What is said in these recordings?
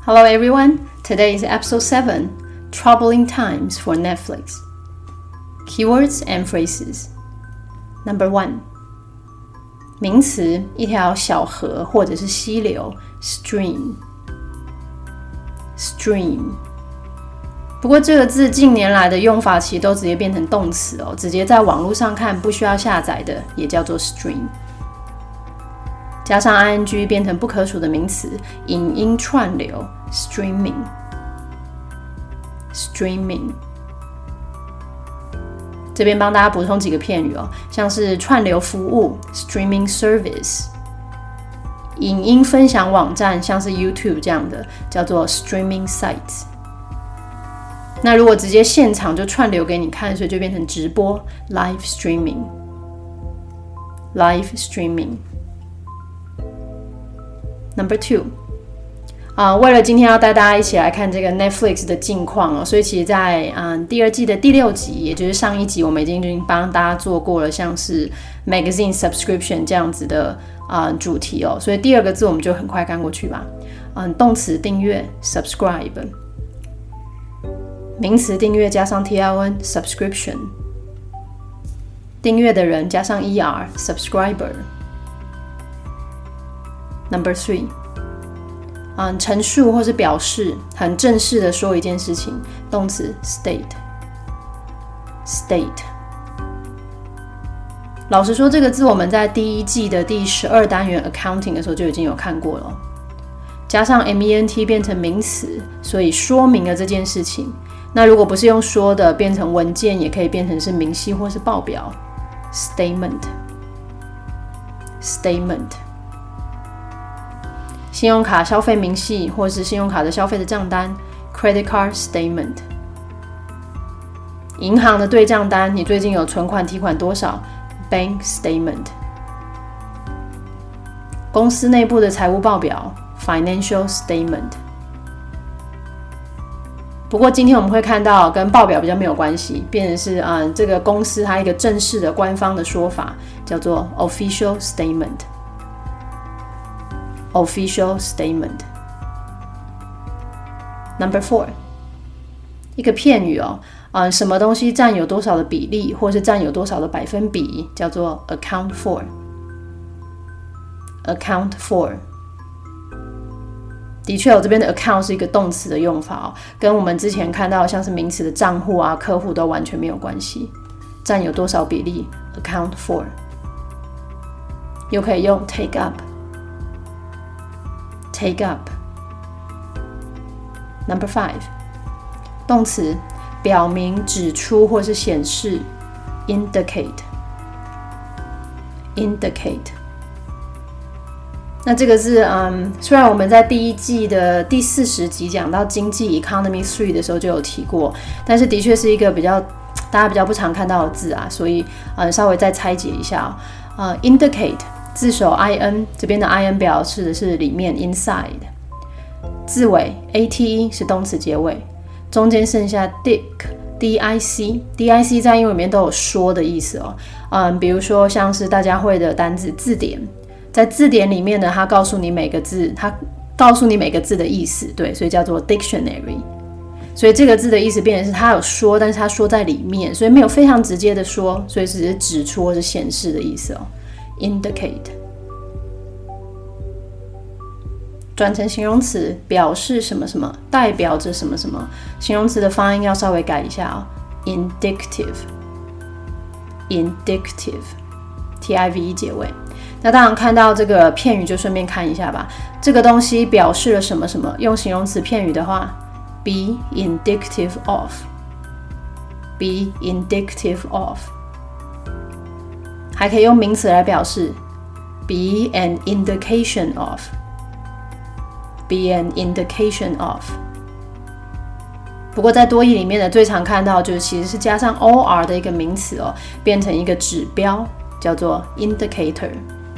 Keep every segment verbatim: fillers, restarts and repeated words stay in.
Hello everyone, today is episode seven, Troubling Times for Netflix. Keywords and phrases. Number one. 名词，一条小河或者是溪流 stream. Stream. 不过这个字近年来的用法其实都直接变成动词哦，直接在网络上看不需要下载的也叫做 stream。加上 ing 变成不可数的名词，影音串流 streaming. Streaming. 这边帮大家补充几个片语哦，像是串流服务 streaming service， 影音分享网站像是 YouTube 这样的叫做 streaming sites。那如果直接现场就串流给你看，所以就变成直播 live streaming. Live streaming. Number two. Uh, 为了今天要带大家一起来看这个 Netflix 的近况哦，所以其实在、嗯、第二季的第六集，也就是上一集，我们已经帮大家做过了像是 magazine subscription 这样子的、呃、主题哦，所以第二个字我们就很快看过去吧。嗯、动词订阅 subscribe， 名词订阅加上 tion subscription， 订阅的人加上 er subscriber。 Number three。嗯，陈述或是表示，很正式的说一件事情，动词 state. State. 老实说，这个字我们在第一季的第十二单元 accounting 的时候就已经有看过了，加上 ment 变成名词，所以说明了这件事情。那如果不是用说的，变成文件，也可以变成是明细或是报表 statement. Statement. 信用卡消费明细或是信用卡的消费的账单 credit card statement。 银行的对账单，你最近有存款提款多少 bank statement。 公司内部的财务报表 financial statement。 不过今天我们会看到跟报表比较没有关系，变成是、嗯、这个公司它一个正式的官方的说法叫做 official statement。Official statement. Number four. 一个片语哦，呃，什么东西占有多少的比例，或是占有多少的百分比，叫做 account for. Account for. 的确，我这边的 account 是一个动词的用法哦，跟我们之前看到像是名词的账户啊、客户都完全没有关系。占有多少比例 account for. 又可以用 take up.Take up. Number five. 动词，表明、指出或是显示 indicate. Indicate. 那这个字、嗯、虽然我们在第一季的第四十集讲到经济 Economy three 的时候就有提过，但是的确是一个比较大家比较不常看到的字啊，所以、嗯、稍微再拆解一下、哦呃、indicate字首 in， 这边的 in 表示的是里面 inside， 字尾 ate 是动词结尾，中间剩下 dic dic dic 在英文里面都有说的意思哦。嗯，比如说像是大家会的单字字典，在字典里面呢，它告诉你每个字，它告诉你每个字的意思，对，所以叫做 dictionary。所以这个字的意思变成是它有说，但是它说在里面，所以没有非常直接的说，所以只是指出或是显示的意思哦。Indicate. 转成形容词，表示什么什么，代表着什么什么。形容词的发音要稍微改一下哦。Indicative. Indicative. T I V E 结尾。那当然看到这个片语就顺便看一下吧。这个东西表示了什么什么，用形容词片语的话 be indicative of. Be indicative of.还可以用名词来表示 be an indication of. Be an indication of. 不过在多义里面呢，最常看到就是其实是加上 or 的一个名词哦，变成一个指标，叫做 indicator.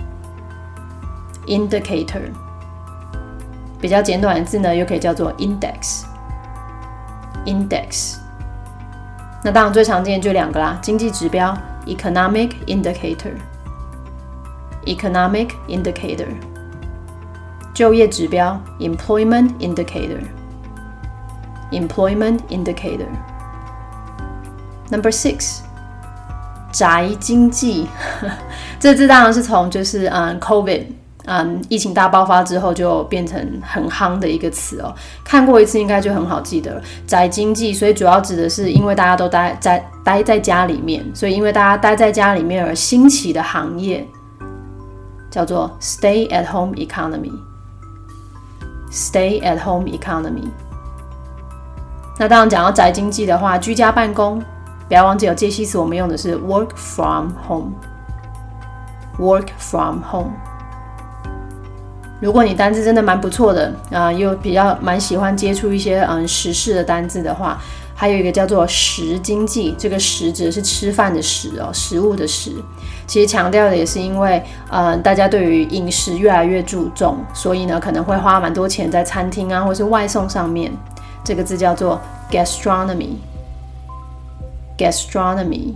Indicator. 比较简短的字呢，又可以叫做 index. Index. 那当然最常见就两个啦，经济指标Economic indicator. Economic indicator. 就业指标 employment indicator employment indicator Number six 宅经济这字当然是从就是嗯 COVID嗯，疫情大爆发之后就变成很夯的一个词哦，看过一次应该就很好记得了。宅经济，所以主要指的是因为大家都待在待在家里面，所以因为大家待在家里面而兴起的行业叫做 Stay at home economy Stay at home economy 那当然讲到宅经济的话，居家办公不要忘记有介系词，我们用的是 work from home work from home如果你单字真的蛮不错的啊、呃，又比较蛮喜欢接触一些嗯时事的单字的话，还有一个叫做食经济，这个食指的是吃饭的食哦，食物的食。其实强调的也是因为呃大家对于饮食越来越注重，所以呢可能会花蛮多钱在餐厅啊或是外送上面。这个字叫做 gastronomy gastronomy。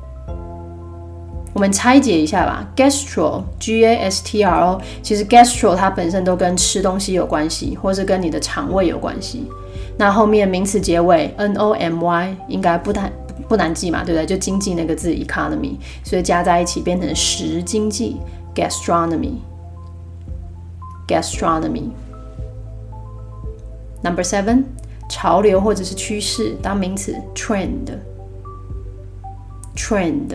我们拆解一下吧 Gastro G A S T R O 其实 Gastro 它本身都跟吃东西有关系，或是跟你的肠胃有关系。那后面名词结尾 N O M Y 应该不难不难记嘛，对不对？就经济那个字 economy， 所以加在一起变成食经济 Gastronomy Gastronomy Number seven 潮流或者是趋势当名词 Trend Trend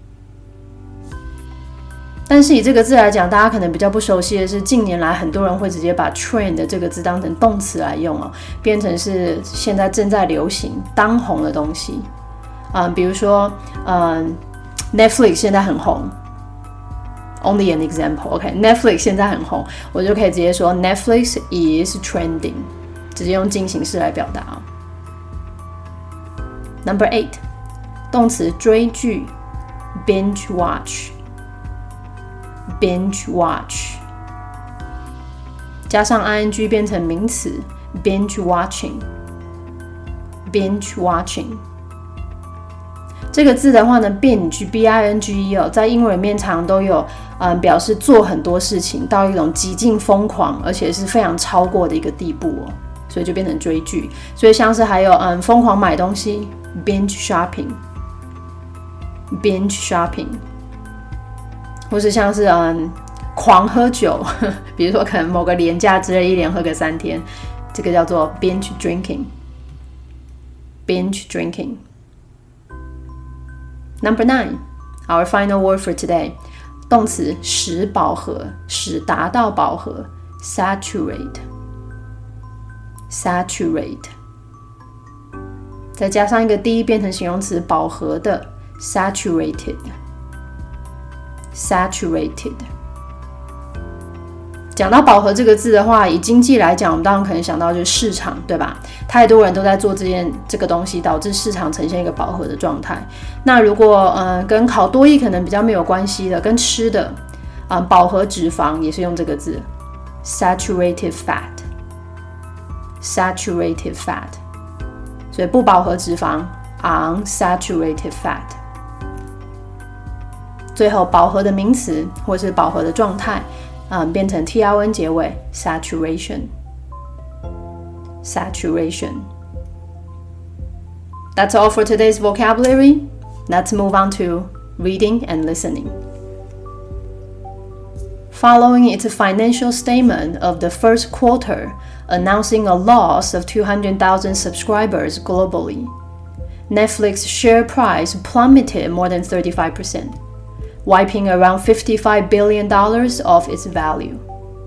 但是以这个字来讲，大家可能比较不熟悉的是，近年来很多人会直接把 trend 这个字当成动词来用哦，变成是现在正在流行、当红的东西。嗯，比如说，嗯 ，Netflix 现在很红 ，Only an example，OK，Netflix、okay? 现在很红，我就可以直接说 Netflix is trending， 直接用进行式来表达哦。Number eight， 动词追剧 ，binge watch。binge watch 加上 ing 变成名词 binge watching binge watching 这个字的话呢 binge B I N G E 哦，在英文里面常都有、嗯、表示做很多事情到一种极尽疯狂而且是非常超过的一个地步哦，所以就变成追剧。所以像是还有嗯疯狂买东西 binge shopping binge shopping或是像是嗯狂喝酒，比如说可能某个连假之类一连喝个三天，这个叫做 binge drinking binge drinking Number nine our final word for today 动词使饱和，使达到饱和 saturate saturate 再加上一个 d 变成形容词饱和的 saturated saturated 讲到饱和这个字的话，以经济来讲，我们当然可能想到就是市场，对吧？太多人都在做这件这个东西，导致市场呈现一个饱和的状态。那如果呃跟考多益可能比较没有关系的，跟吃的，嗯、呃，饱和脂肪也是用这个字 ，saturated fat， saturated fat， 所以不饱和脂肪 unsaturated fat。最后饱和的名词或是饱和的状态。嗯，变成 T R N 结尾 saturation saturation That's all for today's vocabulary. Let's move on to reading and listening. Following its financial statement of the first quarter, announcing a loss of two hundred thousand subscribers globally, Netflix share price plummeted more than thirty-five percent. Wiping around fifty-five billion dollars off its value.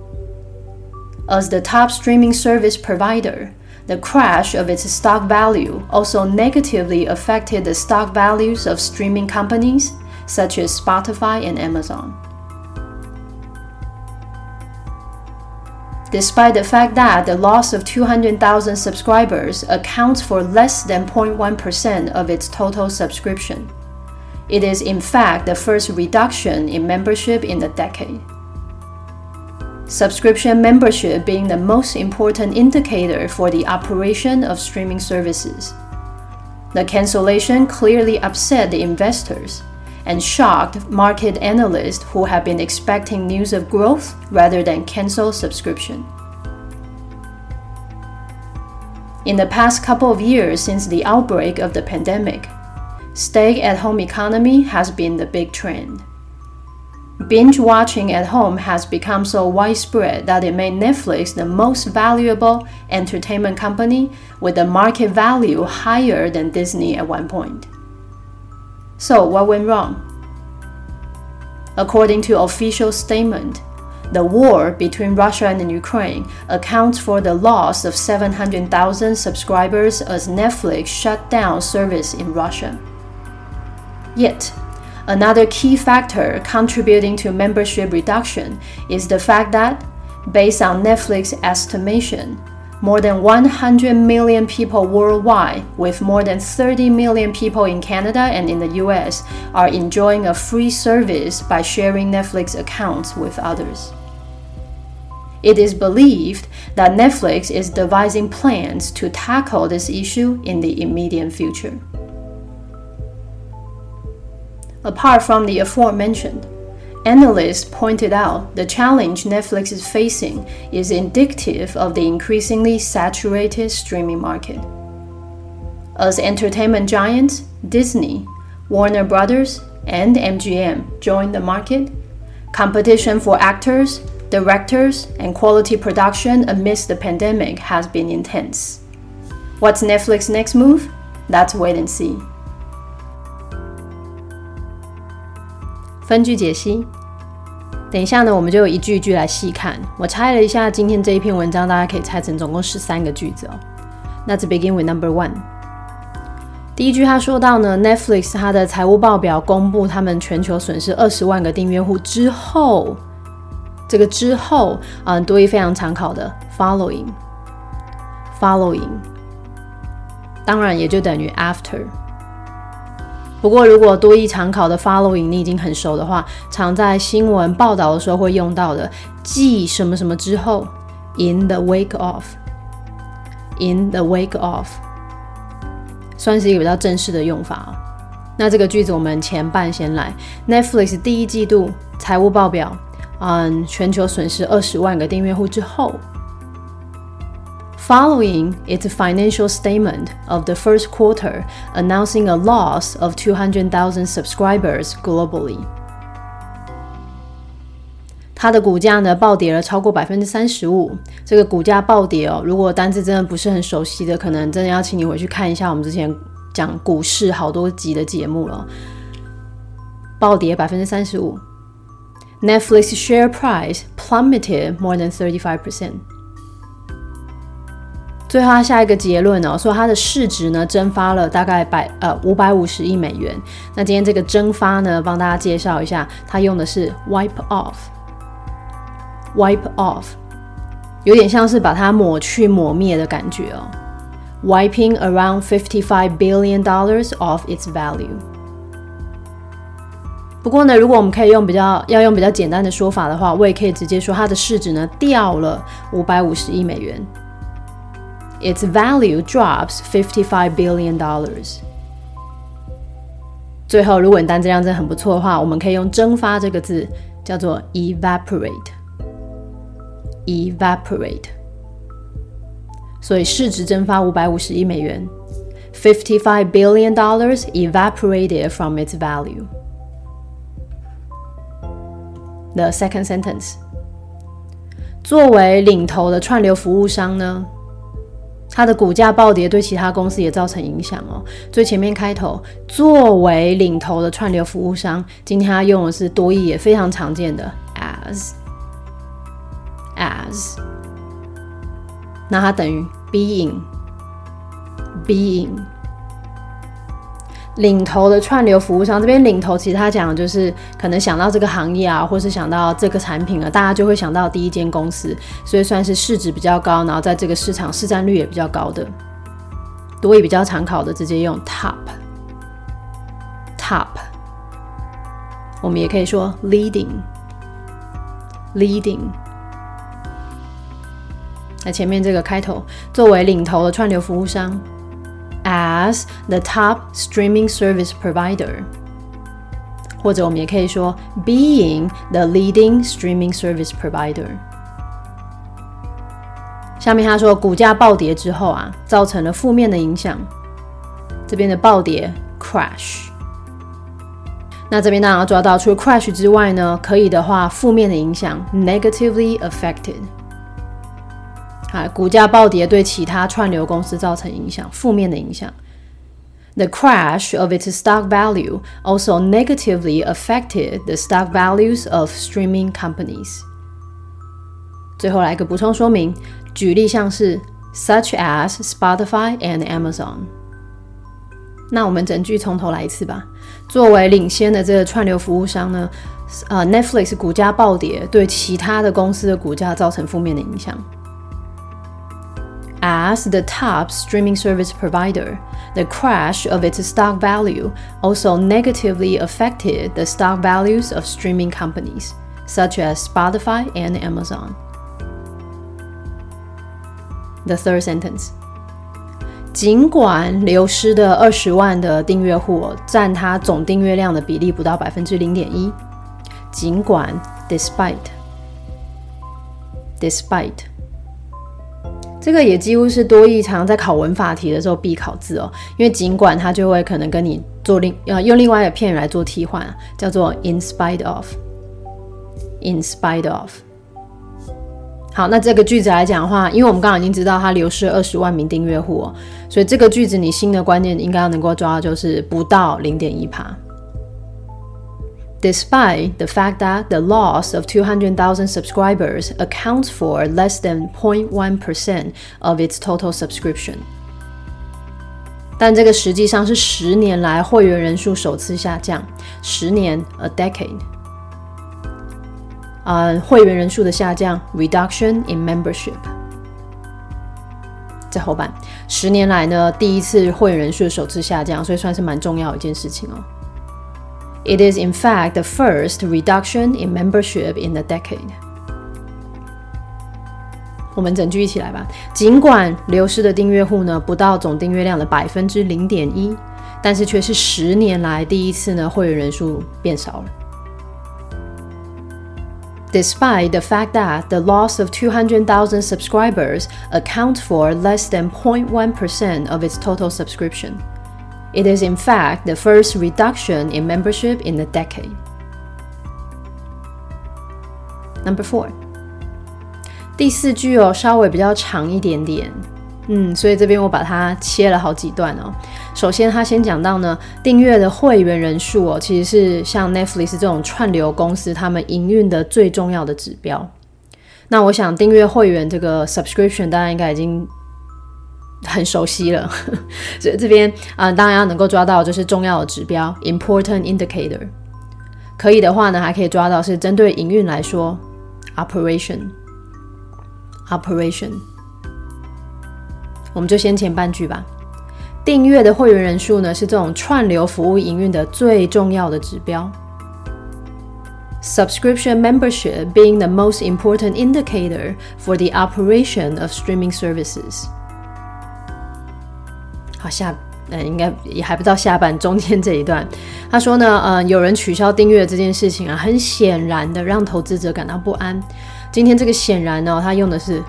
As the top streaming service provider, the crash of its stock value also negatively affected the stock values of streaming companies such as Spotify and Amazon. Despite the fact that the loss of two hundred thousand subscribers accounts for less than zero point one percent of its total subscription,It is in fact the first reduction in membership in a decade. Subscription membership being the most important indicator for the operation of streaming services. The cancellation clearly upset the investors, and shocked market analysts who have been expecting news of growth rather than cancel subscription. In the past couple of years since the outbreak of the pandemic, stay-at-home economy has been the big trend. Binge watching at home has become so widespread that it made Netflix the most valuable entertainment company with a market value higher than Disney at one point. So what went wrong? According to official statement, the war between Russia and Ukraine accounts for the loss of seven hundred thousand subscribers as Netflix shut down service in Russia. Yet, another key factor contributing to membership reduction is the fact that, based on Netflix estimation, more than one hundred million people worldwide, with more than thirty million people in Canada and in the U S, are enjoying a free service by sharing Netflix accounts with others. It is believed that Netflix is devising plans to tackle this issue in the immediate future. Apart from the aforementioned, analysts pointed out the challenge Netflix is facing is indicative of the increasingly saturated streaming market. As entertainment giants Disney, Warner Brothers, and M G M join the market, competition for actors, directors, and quality production amidst the pandemic has been intense. What's Netflix's next move? Let's wait and see. 分句解析，等一下呢，我们就有一句一句来细看。我拆了一下今天这一篇文章，大家可以拆成总共十三个句子哦。那 to begin with number one， 第一句他说到呢 ，Netflix 它的财务报表公布他们全球损失二十万个订阅户之后，这个之后，嗯，多益非常常考的 following，following， following， 当然也就等于 after。不过，如果多益常考的 following 你已经很熟的话，常在新闻报道的时候会用到的，继什么什么之后 ，in the wake of，in the wake of， 算是一个比较正式的用法哦。那这个句子我们前半先来 ，Netflix 第一季度财务报表，嗯，全球损失二十万个订阅户之后。Following its financial statement of the first quarter announcing a loss of two hundred thousand subscribers globally. 它的股价呢暴跌了超过 百分之三十五， 这个股价暴跌哦，如果单字真的不是很熟悉的，可能真的要请你回去看一下我们之前讲股市好多集的节目了。暴跌 百分之三十五， Netflix share price plummeted more than thirty-five percent。最后他下一个结论哦，说它的市值呢蒸发了大概百呃五百五十亿美元。那今天这个蒸发呢，帮大家介绍一下，它用的是 wipe off，wipe off， 有点像是把它抹去抹灭的感觉哦。Wiping around fifty-five billion dollars off its value。不过呢，如果我们可以用比较要用比较简单的说法的话，我也可以直接说它的市值呢掉了五百五十亿美元。Its value drops fifty-five billion dollars。 最后，如果你单字量真的很不错的话，我们可以用蒸发这个字叫做 evaporate evaporate。 所以市值蒸发五百五十亿美元， fifty-five billion dollars evaporated from its value。 The second sentence， 作为领头的串流服务商呢，它的股价暴跌对其他公司也造成影响哦。最前面开头，作为领头的串流服务商，今天它用的是多益也非常常见的 as as， 那它等于 being being。领头的串流服务商，这边领头其实他讲的就是可能想到这个行业啊，或是想到这个产品啊，大家就会想到第一间公司，所以算是市值比较高，然后在这个市场市占率也比较高的。多益比较常考的直接用 top top， 我们也可以说 leading leading。那前面这个开头，作为领头的串流服务商，as the top streaming service provider， 或者我们也可以说 being the leading streaming service provider。下面他说股价暴跌之后啊，造成了负面的影响。这边的暴跌 crash。那这边当然要抓到，除了 crash 之外呢，可以的话负面的影响 negatively affected。好，股价暴跌对其他串流公司造成影响，负面的影响。The crash of its stock value also negatively affected the stock values of streaming companies。最后来一个补充说明，举例像是 such as Spotify and Amazon。那我们整句从头来一次吧。作为领先的这个串流服务商呢，呃 Netflix 股价暴跌，对其他的公司的股价造成负面的影响。As the top streaming service provider, the crash of its stock value also negatively affected the stock values of streaming companies, such as Spotify and Amazon. The third sentence. 尽管流失的二十万的订阅户占它总订阅量的比例不到 百分之零点一， 尽管 despite despite 这个也几乎是多益常在考文法题的时候必考字哦，因为尽管它就会可能跟你做另呃用另外一个片语来做替换，叫做 in spite of in spite of。好，那这个句子来讲的话，因为我们刚刚已经知道它流失了二十万名订阅户哦，所以这个句子你新的关键应该要能够抓到，就是不到 零点一 Despite the fact that the loss of two hundred thousand subscribers accounts for less than zero point one percent of its total subscription。但这个实际上是十年来会员人数首次下降，十年 a decade。呃，会员人数的下降 reduction in membership。在后半，十年来呢第一次会员人数的首次下降，所以算是蛮重要的一件事情哦。It is in fact the first reduction in membership in a decade。我们整句一起来吧。尽管流失的订阅户呢不到总订阅量的 百分之零点一， 但是却是十年来第一次呢会员人数变少了。Despite the fact that the loss of two hundred thousand subscribers accounts for less than zero point one percent of its total subscription, it is in fact the first reduction in membership in a decade. Number four. 第四句哦，稍微比较长一点点，嗯，所以这边我把它切了好几段哦。首先，他先讲到呢，订阅的会员人数哦，其实是像 Netflix 这种串流公司他们营运的最重要的指标。那我想订阅会员这个 subscription 大家应该已经很熟悉了，所以这边啊、呃，当然要能够抓到就是重要的指标 important indicator。可以的话呢，还可以抓到是针对营运来说 operation operation。我们就先前半句吧。订阅的会员人数呢，是这种串流服务营运的最重要的指标。Subscription membership being the most important indicator for the operation of streaming services。好，下呃应该也还不到下半，中间这一段，他说呢，呃，有人取消订阅这件事情啊，很显然的让投资者感到不安。今天这个显然呢，他用的是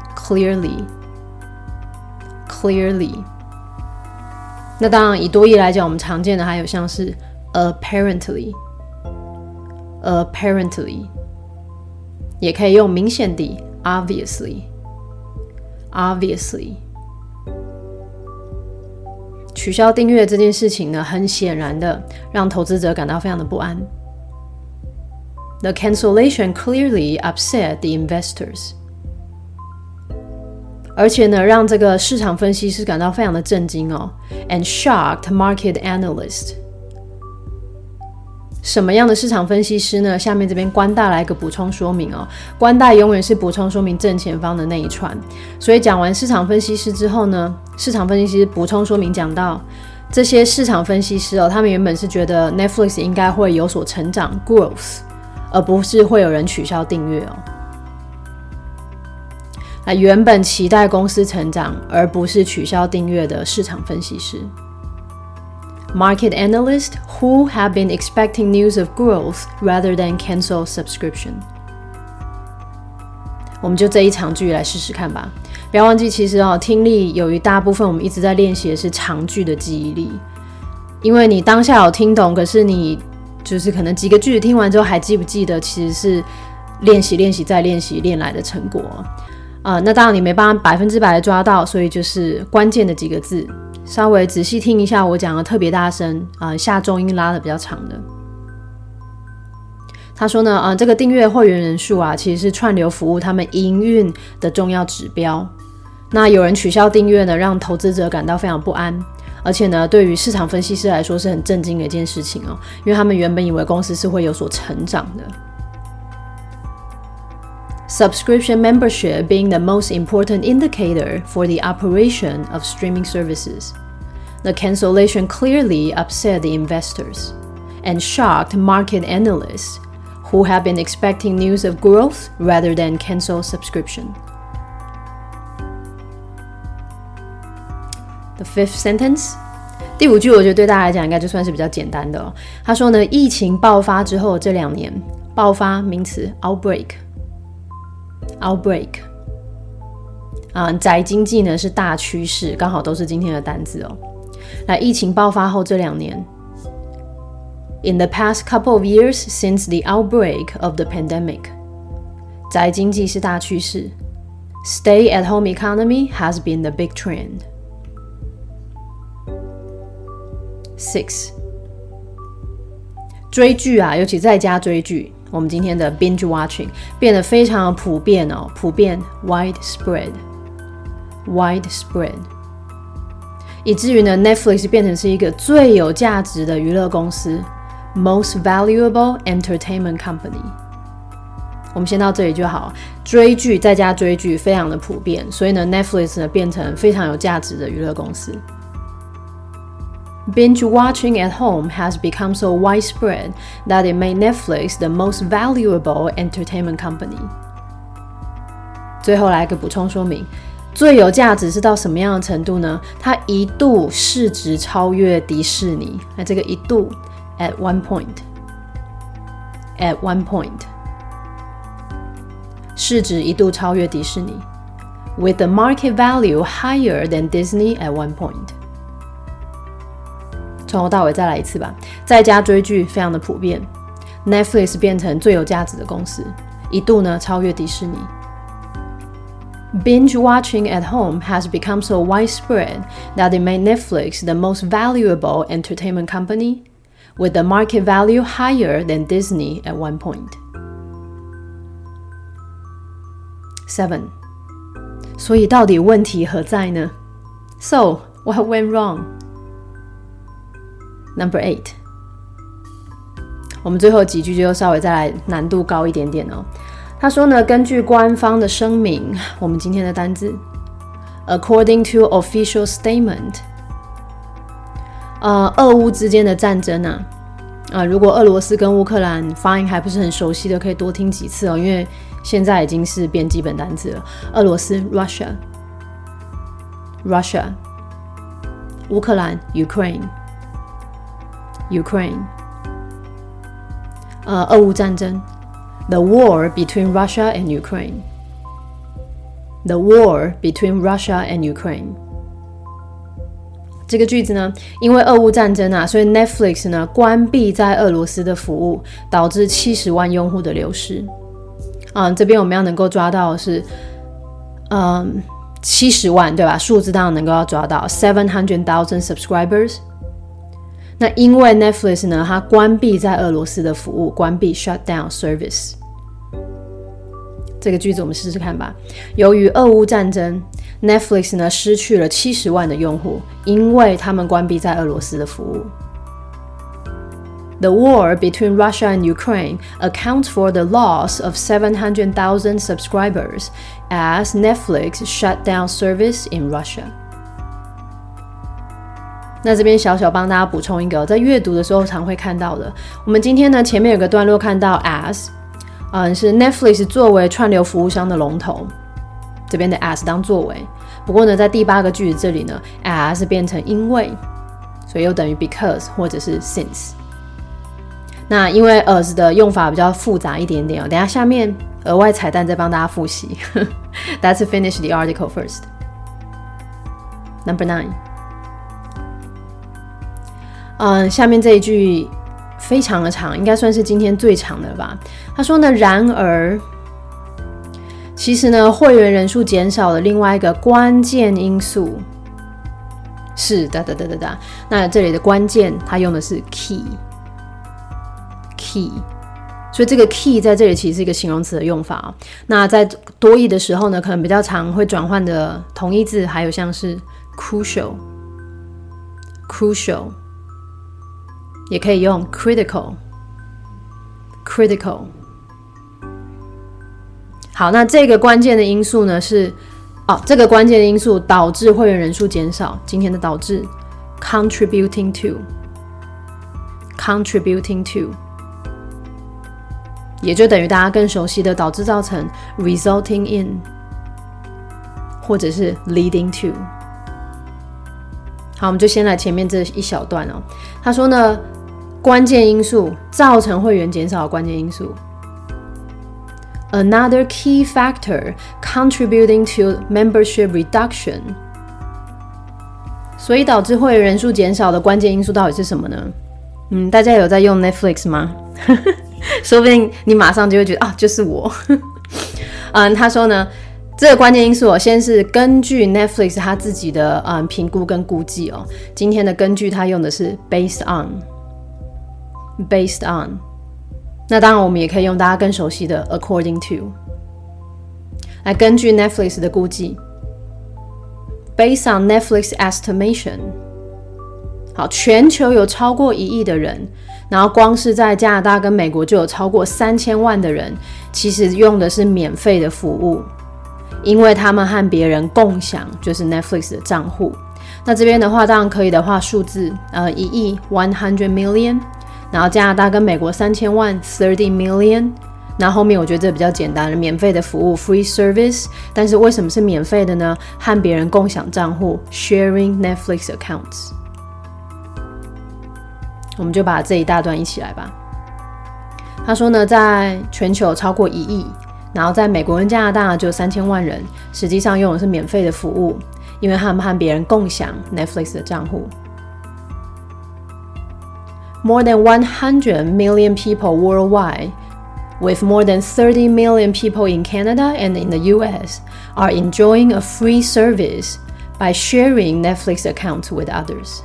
clearly。Clearly， 那当然以多益来讲，我们常见的还有像是 apparently apparently， 也可以用明显地 obviously obviously。取消订阅这件事情呢，很显然的让投资者感到非常的不安。The cancellation clearly upset the investors。而且呢，让这个市场分析师感到非常的震惊哦 ，and shocked market analysts。什么样的市场分析师呢？下面这边官大来一个补充说明哦，官大永远是补充说明正前方的那一串。所以讲完市场分析师之后呢，市场分析师补充说明讲到这些市场分析师哦，他们原本是觉得 Netflix 应该会有所成长 growth， 而不是会有人取消订阅哦。那原本期待公司成长，而不是取消订阅的市场分析师。 market analysts who have been expecting news of growth rather than cancel subscription. 我们就这一长句来试试看吧。不要忘记，其实、哦、听力有一大部分我们一直在练习的是长句的记忆力，因为你当下有听懂，可是你就是可能几个句子听完之后还记不记得，其实是练习练习再练习练来的成果。呃，那当然你没办法百分之百的抓到，所以就是关键的几个字，稍微仔细听一下我讲的特别大声，呃，下重音拉的比较长的。他说呢，呃，这个订阅会员人数啊，其实是串流服务他们营运的重要指标。那有人取消订阅呢，让投资者感到非常不安，而且呢，对于市场分析师来说是很震惊的一件事情哦，因为他们原本以为公司是会有所成长的。Subscription membership being the most important indicator for the operation of streaming services, the cancellation clearly upset the investors and shocked market analysts who have been expecting news of growth rather than cancel subscription. The fifth sentence. 第五句我觉得对大家来讲应该就算是比较简单的哦。他说呢，疫情爆发之后这两年，爆发名词 outbreak outbreak 啊，宅经济呢是大趋势，刚好都是今天的单字哦。来，疫情爆发后这两年 ，in the past couple of years since the outbreak of the pandemic， 宅经济是大趋势 ，stay-at-home economy has been the big trend. Six， 追剧啊，尤其在家追剧，我们今天的 binge watching 变得非常普遍哦，普遍 widespread widespread， 以至于呢 Netflix 变成是一个最有价值的娱乐公司 most valuable entertainment company。 我们先到这里就好。追剧在家追剧非常的普遍，所以呢 Netflix 呢变成非常有价值的娱乐公司。Binge watching at home has become so widespread that it made Netflix the most valuable entertainment company. 最后来个补充说明，最有价值是到什么样的程度呢？它一度市值超越迪士尼。那这个一度 at one point at one point 市值一度超越迪士尼 with the market value higher than Disney at one point。从头到尾再来一次吧。在家追剧非常的普遍 ，Netflix 变成最有价值的公司，一度呢超越迪士尼。Binge watching at home has become so widespread that it made Netflix the most valuable entertainment company, with the market value higher than Disney at one point. Seven. 所以到底问题何在呢？ So, what went wrong?Number eight， 我们最后几句就稍微再来难度高一点点哦。他说呢，根据官方的声明，我们今天的单字 ，according to official statement， 呃，俄乌之间的战争啊，啊、呃，如果俄罗斯跟乌克兰发音还不是很熟悉的，可以多听几次哦，因为现在已经是变基本单字了。俄罗斯 Russia，Russia， 乌克兰 Ukraine。Ukraine， 呃，俄乌战争 ，the war between Russia and Ukraine，the war between Russia and Ukraine。这个句子呢，因为俄乌战争啊，所以 Netflix 呢关闭在俄罗斯的服务，导致七十万用户的流失。嗯，这边我们要能够抓到的是，嗯，七十万对吧？数字当然能够要抓到 seven hundred thousand subscribers。那因为 Netflix 呢，它关闭在俄罗斯的服务，关闭 shut down service。这个句子我们试试看吧。由于俄乌战争 ，Netflix 呢失去了七十万的用户，因为他们关闭在俄罗斯的服务。The war between Russia and Ukraine accounts for the loss of seven hundred thousand subscribers as Netflix shut down service in Russia.那这边小小帮大家补充一个，在阅读的时候常会看到的。我们今天呢前面有个段落看到 as， 嗯，是 Netflix 作为串流服务商的龙头，这边的 as 当作为。不过呢，在第八个句子这里呢 ，as 变成因为， 所以又等于 because 或者是 since。那因为 as 的用法比较复杂一点点哦，等一下下面额外彩蛋再帮大家复习。Let's finish the article first. Number nine. 嗯，下面这一句非常的长，应该算是今天最长的了吧。他说呢，然而，其实呢，会员人数减少的另外一个关键因素是哒哒哒哒哒。那这里的关键，它用的是 key，key， 所以这个 key 在这里其实是一个形容词的用法哦。那在多义的时候呢，可能比较常会转换的同义字，还有像是 crucial，crucial。也可以用 critical critical。 好，那这个关键的因素呢是哦，这个关键的因素导致会员人数减少，今天的导致 contributing to contributing to， 也就等于大家更熟悉的导致造成 resulting in 或者是 leading to。 好，我们就先来前面这一小段哦。他说呢，关键因素造成会员减少的关键因素 Another key factor contributing to membership reduction。 所以导致会员人数减少的关键因素到底是什么呢？嗯，大家有在用 Netflix 吗？说不定你马上就会觉得啊，就是我。嗯，他说呢，这个关键因素哦，先是根据 Netflix 他自己的嗯评估跟估计哦。今天的根据他用的是 based on。Based on， 那当然我们也可以用大家更熟悉的 according to 来根据 Netflix 的估计。Based on Netflix estimation， 好，全球有超过一亿的人，然后光是在加拿大跟美国就有超过三千万的人，其实用的是免费的服务，因为他们和别人共享就是 Netflix 的账户。那这边的话，当然可以的话，数字呃一亿 one hundred million。然后加拿大跟美国三千万 thirty million， 然后后面我觉得这比较简单了，免费的服务 free service， 但是为什么是免费的呢？和别人共享账户 sharing Netflix accounts。 我们就把这一大段一起来吧。他说呢，在全球超过一亿，然后在美国跟加拿大就有三千万人，实际上用的是免费的服务，因为他们和别人共享 Netflix 的账户。More than one hundred million people worldwide, with more than thirty million people in Canada and in the U S, are enjoying a free service by sharing Netflix accounts with others.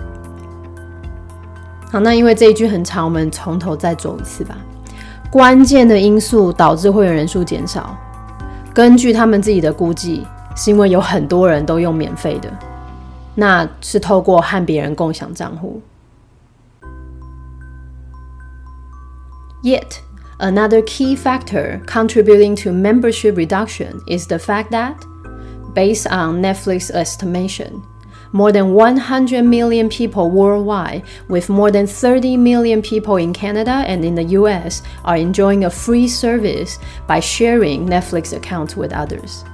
好，那因为这一句很长，我们从头再走一次吧。关键的因素导致会员人数减少，根据他们自己的估计，是因为有很多人都用免费的，那是透过和别人共享账户。Yet, another key factor contributing to membership reduction is the fact that, based on Netflix estimation, more than one hundred million people worldwide, with more than thirty million people in Canada and in the U S, are enjoying a free service by sharing Netflix accounts with others.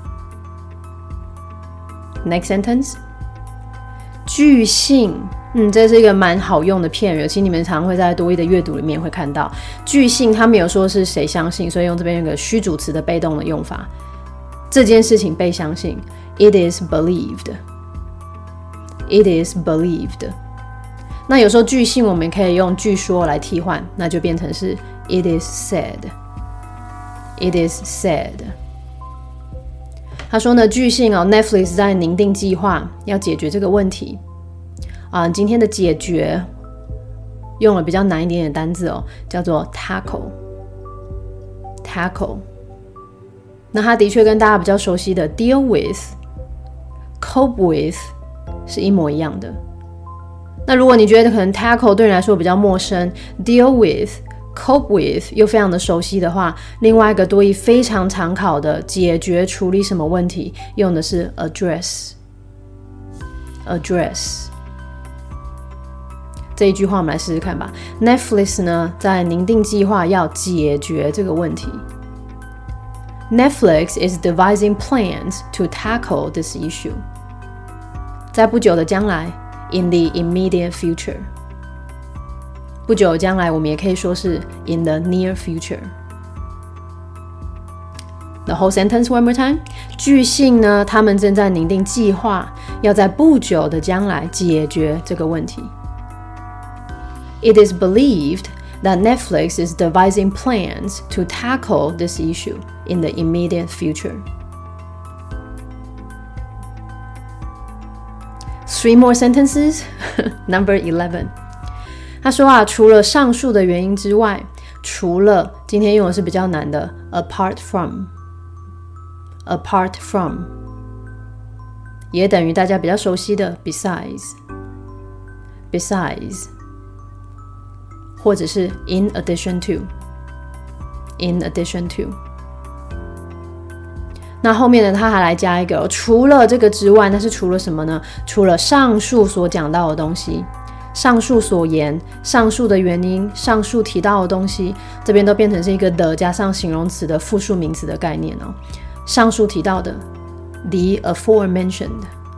Next sentence. 据信，嗯，这是一个蛮好用的片语，其实你们常会在多益的阅读里面会看到。据信，他没有说是谁相信，所以用这边有个虚主词的被动的用法。这件事情被相信 ，it is believed。It is believed。那有时候据信我们可以用据说来替换，那就变成是 it is said。It is said。他说呢，据信哦 ，Netflix 在拟定计划要解决这个问题。啊、呃，今天的解决用了比较难一点点的单字哦，叫做 tackle。tackle。那它的确跟大家比较熟悉的 deal with、cope with 是一模一样的。那如果你觉得可能 tackle 对你来说比较陌生 ，deal with、cope with 又非常的熟悉的话，另外一个多益非常常考的解决处理什么问题，用的是 address。address。这一句话我们来试试看吧。Netflix 呢，在拟定计划要解决这个问题。Netflix is devising plans to tackle this issue. 在不久的将来 in the immediate future。不久将来，我们也可以说是 in the near future。The whole sentence one more time。据信呢，他们正在拟定计划，要在不久的将来解决这个问题。It is believed that Netflix is devising plans to tackle this issue in the immediate future. Three more sentences. Number eleven. 他说啊，除了上述的原因之外，除了今天用的是比较难的 apart from。apart from 也等于大家比较熟悉的 besides besides 或者是 in addition to in addition to。 那后面呢，他还来加一个除了这个之外，那是除了什么呢？除了上述所讲到的东西，上述所言，上述的原因，上述提到的东西，这边都变成是一个的加上形容词的复数名词的概念哦。上述提到的 the aforementioned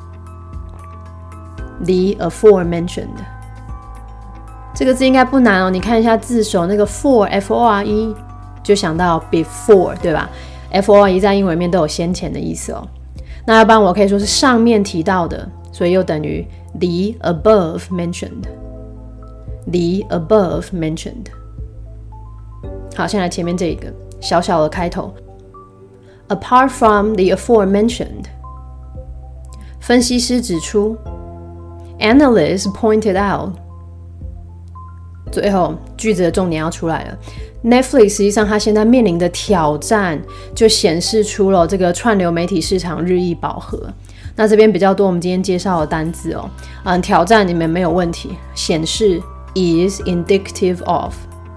the aforementioned 这个字应该不难哦，你看一下字首那个 for F O R E 就想到 before 对吧？ F O R E 在英文里面都有先前的意思哦。那要不然我可以说是上面提到的，所以又等于 the above mentioned the above mentioned。 好，先来前面这一个小小的开头Apart from the aforementioned， 分析师指出 Analysts pointed out， 最后句子的重点要出来了。 Netflix 实际上它现在面临的挑战就显示出了这个串流媒体市场日益饱和。那这边比较多我们今天介绍的单字哦，嗯，挑战你们没有问题，显示 is indicative of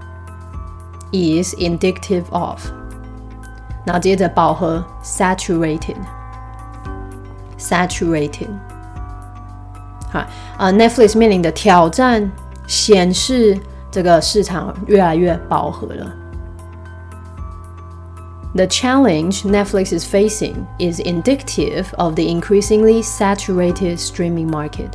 is indicative of，然后接着饱和 saturated saturated。 好、呃、Netflix 面临的挑战显示这个市场越来越饱和了。 The challenge Netflix is facing is indicative of the increasingly saturated streaming market。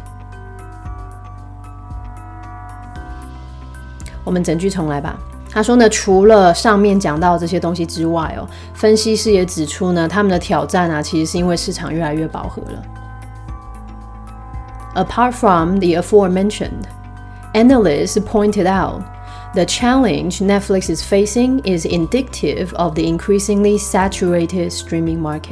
我们整句重来吧。他说呢，除了上面讲到这些东西之外哦，分析师也指出呢，他们的挑战啊，其实是因为市场越来越饱和了。Apart from the aforementioned, analysts pointed out the challenge Netflix is facing is indicative of the increasingly saturated streaming market。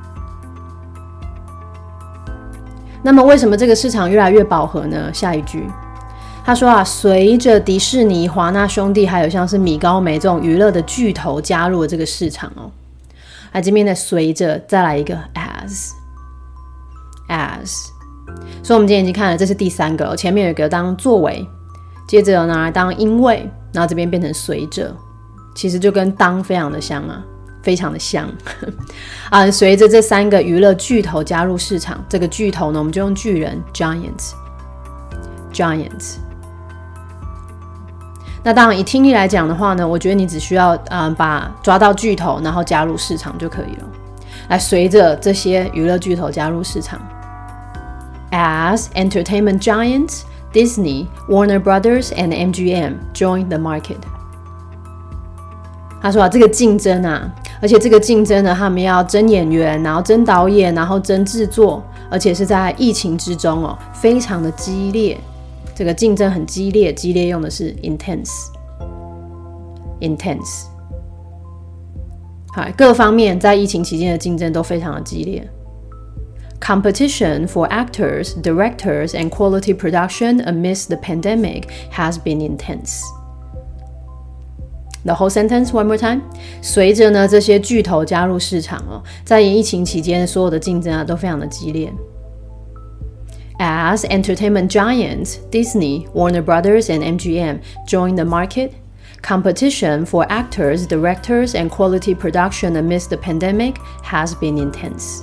那么为什么这个市场越来越饱和呢？下一句他说啊，随着迪士尼、华纳兄弟还有像是米高梅这种娱乐的巨头加入了这个市场哦，那这边的随着再来一个 as as， 所以我们今天已经看了，这是第三个，前面有一个当作为，接着拿来当因为，然后这边变成随着，其实就跟当非常的像啊，非常的像啊。随着这三个娱乐巨头加入市场，这个巨头呢，我们就用巨人 giants giants。那当然以听力来讲的话呢，我觉得你只需要、嗯、把抓到巨头然后加入市场就可以了。来，随着这些娱乐巨头加入市场 As entertainment giants Disney, Warner Brothers and M G M join the market。 他说啊，这个竞争啊，而且这个竞争呢，他们要争演员，然后争导演，然后争制作，而且是在疫情之中哦，非常的激烈。这个竞争很激烈，激烈用的是 intense intense。 好，各方面在疫情期间的竞争都非常的激烈。 Competition for actors, directors, and quality production amidst the pandemic has been intense. The whole sentence one more time. 随着呢这些巨头加入市场哦，在疫情期间所有的竞争啊都非常的激烈。As entertainment giants Disney, Warner Brothers, and M G M join the market, competition for actors, directors, and quality production amidst the pandemic has been intense.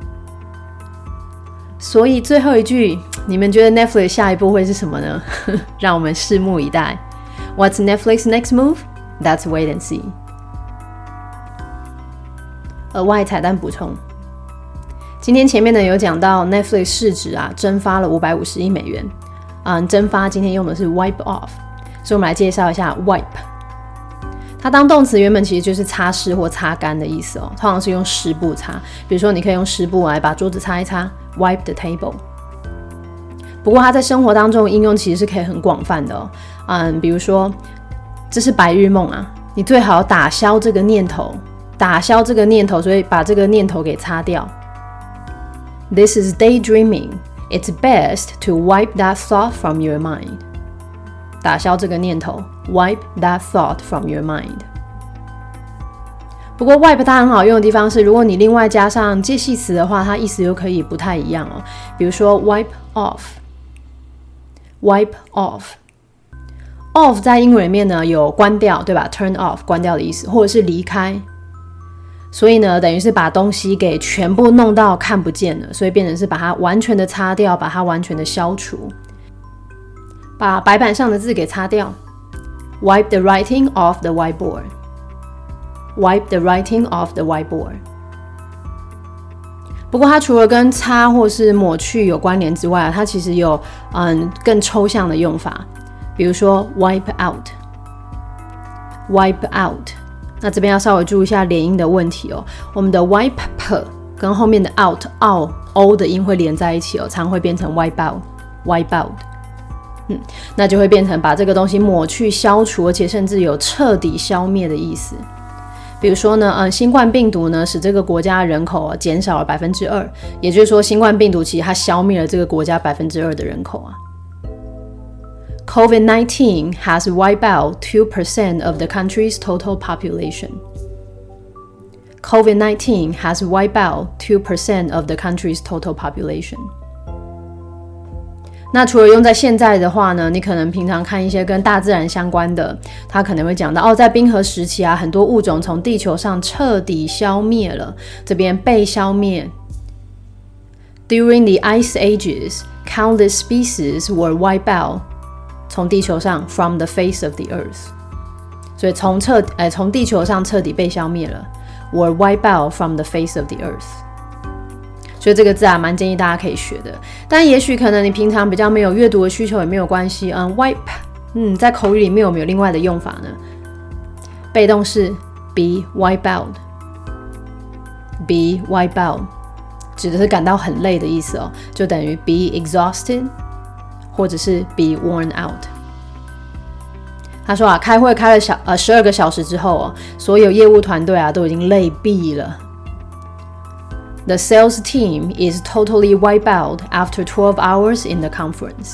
所以最后一句，你们觉得 Netflix 下一步会是什么呢？让我们拭目以待。What's Netflix's next move? Let's wait and see. 额外彩蛋补充。 今天前面呢有讲到 Netflix 市值啊蒸发了五百五十亿美元，嗯，蒸发今天用的是 wipe off， 所以我们来介绍一下 wipe。它当动词原本其实就是擦拭或擦干的意思哦，通常是用湿布擦，比如说你可以用湿布来把桌子擦一擦 ，wipe the table。不过它在生活当中的应用其实是可以很广泛的哦，嗯，比如说这是白日梦啊，你最好打消这个念头，打消这个念头，所以把这个念头给擦掉。This is daydreaming. It's best to wipe that thought from your mind. 打消这个念头 wipe that thought from your mind。 不过 wipe 它很好用的地方是，如果你另外加上介系词的话，它意思又可以不太一样哦。比如说 wipe off， wipe off off 在英文里面呢有关掉，对吧？ turn off 关掉的意思，或者是离开，所以呢等于是把东西给全部弄到看不见了，所以变成是把它完全的擦掉，把它完全的消除，把白板上的字给擦掉 wipe the writing off the whiteboard， wipe the writing off the whiteboard。 不过它除了跟擦或是抹去有关联之外，它其实有嗯更抽象的用法，比如说 wipe out wipe out。 那这边要稍微注意一下连音的问题哦，我们的 wipe 跟后面的 out o o 的音会连在一起哦，常会变成 wipe out wipe out。嗯，那就会变成把这个东西抹去、消除，而且甚至有彻底消灭的意思。比如说呢，嗯，新冠病毒呢使这个国家的人口、啊、减少了百分之二，也就是说，新冠病毒其实它消灭了这个国家百分之二的人口啊。COVID nineteen has wiped out two percent of the country's total population. COVID nineteen has wiped out two percent of the country's total population. 那除了用在现在的话呢，你可能平常看一些跟大自然相关的，它可能会讲到哦，在冰河时期啊，很多物种从地球上彻底消灭了，这边被消灭。During the ice ages, countless species were wiped out. 从地球上 from the face of the earth， 所以从彻呃从地球上彻底被消灭了 were wiped out from the face of the earth。 所以这个字啊蛮建议大家可以学的，但也许可能你平常比较没有阅读的需求也没有关系。嗯 wipe 嗯在口语里面有没有另外的用法呢？被动式 be wiped out be wiped out 指的是感到很累的意思哦，就等于 be exhausted或者是 be worn out。 他说啊，开会开了小呃十二个小时之后哦，所有业务团队啊都已经累毙了。The sales team is totally wiped out after twelve hours in the conference。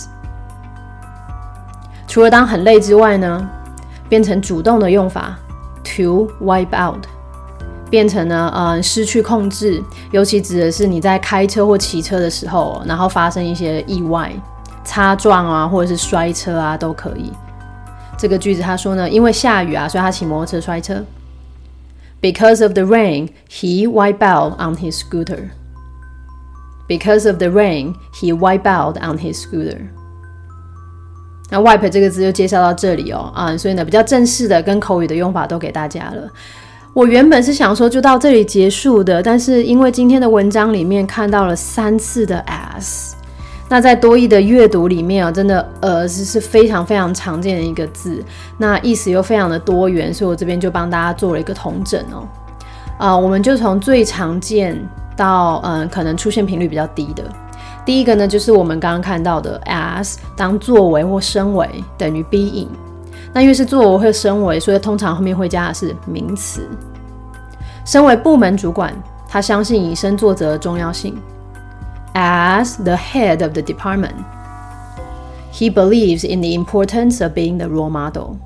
除了当很累之外呢，变成主动的用法 to wipe out， 变成呢呃失去控制，尤其指的是你在开车或骑车的时候，然后发生一些意外。擦撞啊，或者是摔车啊，都可以。这个句子他说呢，因为下雨啊，所以他骑摩托车摔车。Because of the rain, he wiped out on his scooter. Because of the rain, he wiped out on his scooter. 那 wipe 这个字就介绍到这里哦，啊，所以呢比较正式的跟口语的用法都给大家了。我原本是想说就到这里结束的，但是因为今天的文章里面看到了三次的 as。那在多益的阅读里面啊，真的呃是非常非常常见的一个字，那意思又非常的多元，所以我这边就帮大家做了一个统整哦。呃，我们就从最常见到嗯、呃、可能出现频率比较低的。第一个呢，就是我们刚刚看到的 as 当作为或身为等于 being。那因为是作为或身为，所以通常后面会加的是名词。身为部门主管，他相信以身作则的重要性。As the head of the department, he believes in the importance of being the role model.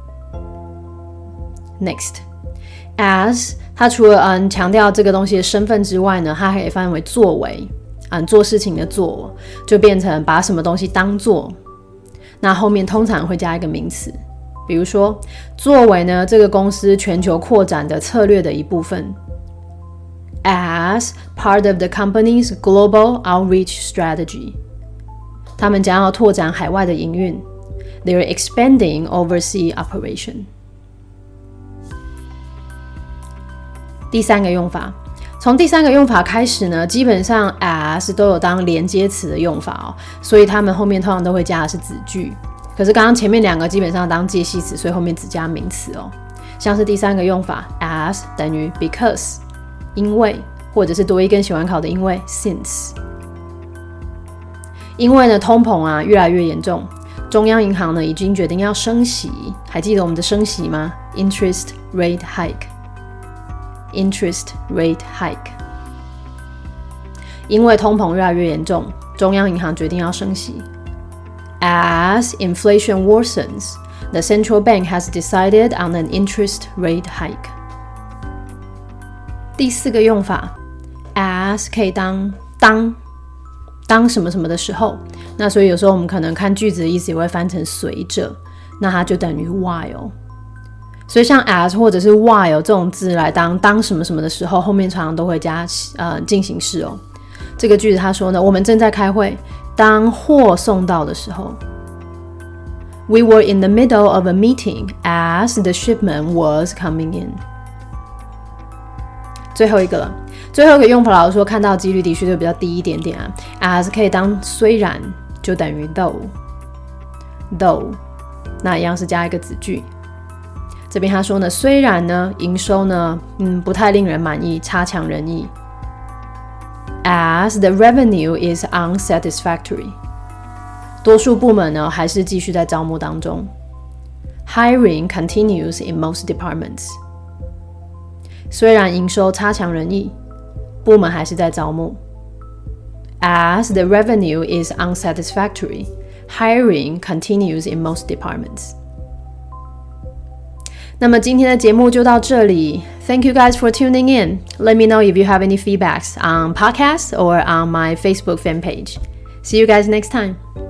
Next, as 它除了嗯强调这个东西的身份之外呢，它还可以翻译为作为，嗯做事情的做，就变成把什么东西当做。那后面通常会加一个名词，比如说作为呢这个公司全球扩展的策略的一部分。As part of the company's global outreach strategy， 他们将要拓展海外的营运。They're expanding overseas operation。第三个用法， 从第三个用法开始呢，基本上 as 都有当连接词的用法哦，所以他们后面通常都会加的是子句。可是刚刚前面两个基本上当介系词，所以后面只加名词哦。像是第三个用法 as 等于 because 因为，或者是多一更喜欢考的因为 since。因为呢通膨啊越来越严重，中央银行呢已经决定要升息，还记得我们的升息吗？ Interest rate hike Interest rate hike。 因为通膨越来越严重，中央银行决定要升息。 As inflation worsens, the central bank has decided on an interest rate hike。 第四个用法 as 可以当当当什么什么的时候，那所以有时候我们可能看句子的意思也会翻成随着，那它就等于 while。所以像 as 或者是 while 这种字来当当什么什么的时候，后面常常都会加呃进行式哦。这个句子他说呢，我们正在开会，当货送到的时候。We were in the middle of a meeting as the shipment was coming in。 最后一个了，最后一个用法老实说看到几率的确就比较低一点点啊。as 可以当虽然，就等于 though though， 那一样是加一个子句。这边他说呢，虽然呢营收呢嗯不太令人满意，差强人意。 As the revenue is unsatisfactory， 多数部门呢还是继续在招募当中。 Hiring continues in most departments， 虽然营收差强人意，部门还是在招募。 As the revenue is unsatisfactory, hiring continues in most departments。那么今天的节目就到这里。Thank you guys for tuning in. Let me know if you have any feedbacks on podcasts or on my Facebook fan page. See you guys next time.